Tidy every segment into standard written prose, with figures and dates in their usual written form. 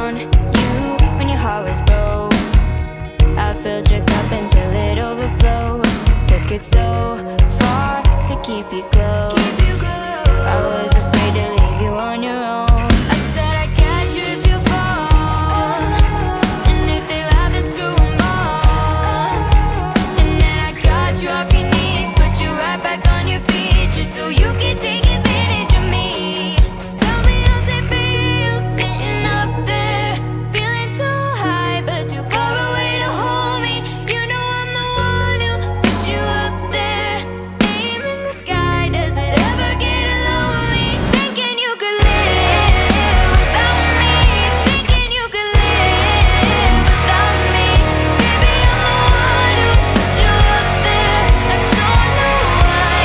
on you when your heart was broke. I filled your cup until it overflowed. Took it so far to keep you close. I was afraid to leave you on your own. I said I got you if you fall, and if they laugh then screw 'em all. And then I got you off your knees, put you right back on your feet, just so you can take advantage of me. Tell me how's it feel sitting up there, feeling so high but too far away to hold me. You know I'm the one who put you up there, aim in the sky. Does it ever get lonely thinking you could live without me, thinking you could live without me? Baby, I'm the one who put you up there. I don't know why,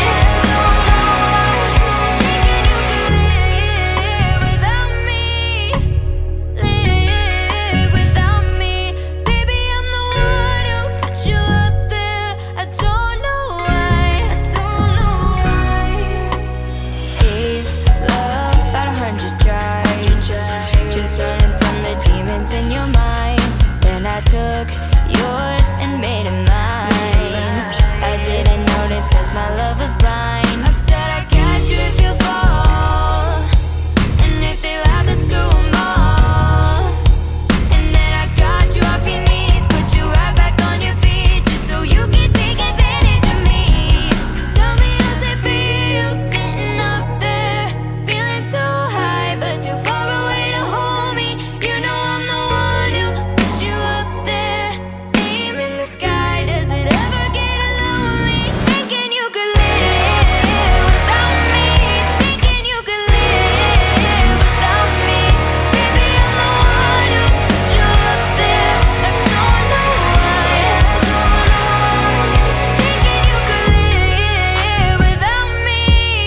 thinking you could live without me, live without me. Baby, I'm the one who put you up there. I don't know why, gave love about 100 tries, just running from the demons in your mind. Then I took yours and made it mine. I didn't notice 'cause my love was blind. I said I got you if you fall, and if they laugh then screw 'em all. And then I got you off your knees, put you right back on your feet, just so you can take advantage of me. Tell me how's it feel sitting up there, feeling so high but too far away to hold me. You know I'm the one who put you up there, aim in the sky. Does it ever get lonely thinking you could live without me, thinking you could live without me? Baby, I'm the one who put you up there. I don't know why, thinking you could live without me,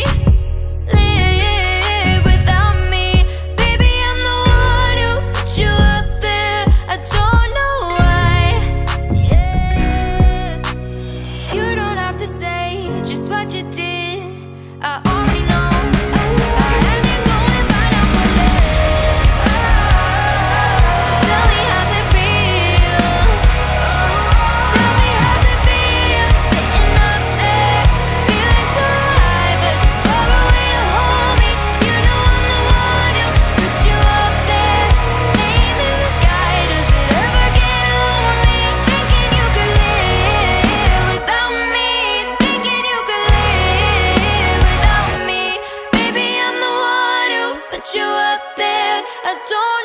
live without me. Baby, I'm the one who put you up there. I don't know why, yeah. You don't have to say just what you did, I already know. I had to go and find out for it. So tell me how's it feel, tell me how's it feel sitting up there, feeling so high but too far away to hold me. You know I'm the one who put you up there, aim in the sky. Does it ever get lonely thinking you could live without me, thinking you could live without me? Baby, I'm the one who put you up there. I don't